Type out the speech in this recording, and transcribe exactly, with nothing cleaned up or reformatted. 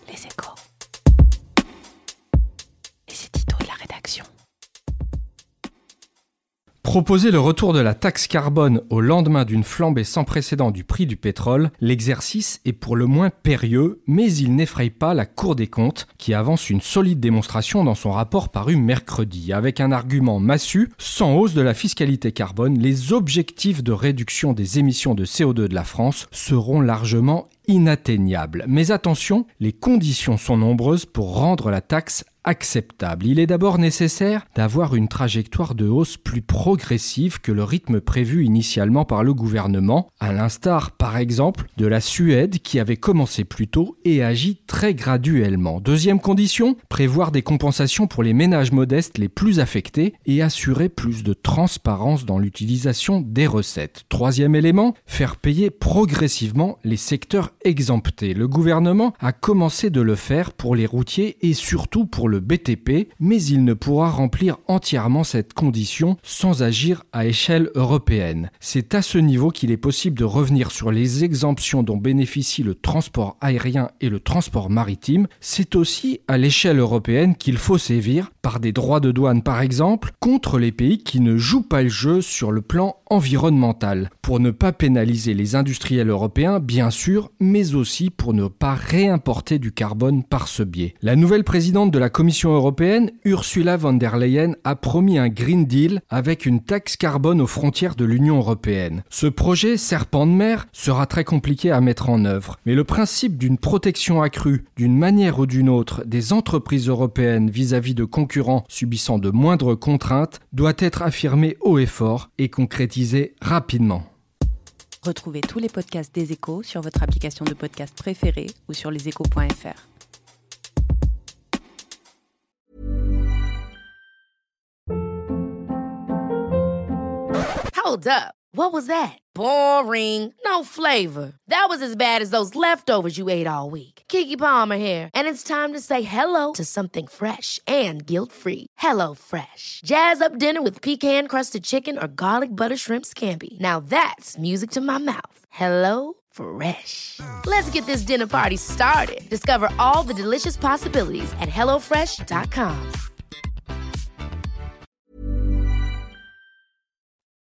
Les Échos. Et c'est Tito et la rédaction. Proposer le retour de la taxe carbone au lendemain d'une flambée sans précédent du prix du pétrole, l'exercice est pour le moins périlleux, mais il n'effraie pas la Cour des comptes, qui avance une solide démonstration dans son rapport paru mercredi. Avec un argument massu, sans hausse de la fiscalité carbone, les objectifs de réduction des émissions de C O deux de la France seront largement inatteignables. Mais attention, les conditions sont nombreuses pour rendre la taxe acceptable. Il est d'abord nécessaire d'avoir une trajectoire de hausse plus progressive que le rythme prévu initialement par le gouvernement, à l'instar par exemple de la Suède qui avait commencé plus tôt et agit très graduellement. Deuxième condition, prévoir des compensations pour les ménages modestes les plus affectés et assurer plus de transparence dans l'utilisation des recettes. Troisième élément, faire payer progressivement les secteurs exemptés. Le gouvernement a commencé de le faire pour les routiers et surtout pour le B T P, mais il ne pourra remplir entièrement cette condition sans agir à échelle européenne. C'est à ce niveau qu'il est possible de revenir sur les exemptions dont bénéficient le transport aérien et le transport maritime. C'est aussi à l'échelle européenne qu'il faut sévir, par des droits de douane par exemple, contre les pays qui ne jouent pas le jeu sur le plan environnemental, pour ne pas pénaliser les industriels européens, bien sûr, mais aussi pour ne pas réimporter du carbone par ce biais. La nouvelle présidente de la Commission européenne, Ursula von der Leyen, a promis un Green Deal avec une taxe carbone aux frontières de l'Union européenne. Ce projet, serpent de mer, sera très compliqué à mettre en œuvre, mais le principe d'une protection accrue, d'une manière ou d'une autre, des entreprises européennes vis-à-vis de concurrents subissant de moindres contraintes doit être affirmé haut et fort et concrétisé rapidement. Retrouvez tous les podcasts des Échos sur votre application de podcast préférée ou sur leséchos point f r. Hold up. What was that? Boring. No flavor. That was as bad as those leftovers you ate all week. Keke Palmer here, and it's time to say hello to something fresh and guilt-free. Hello Fresh. Jazz up dinner with pecan-crusted chicken or garlic butter shrimp scampi. Now that's music to my mouth. Hello Fresh. Let's get this dinner party started. Discover all the delicious possibilities at hello fresh dot com.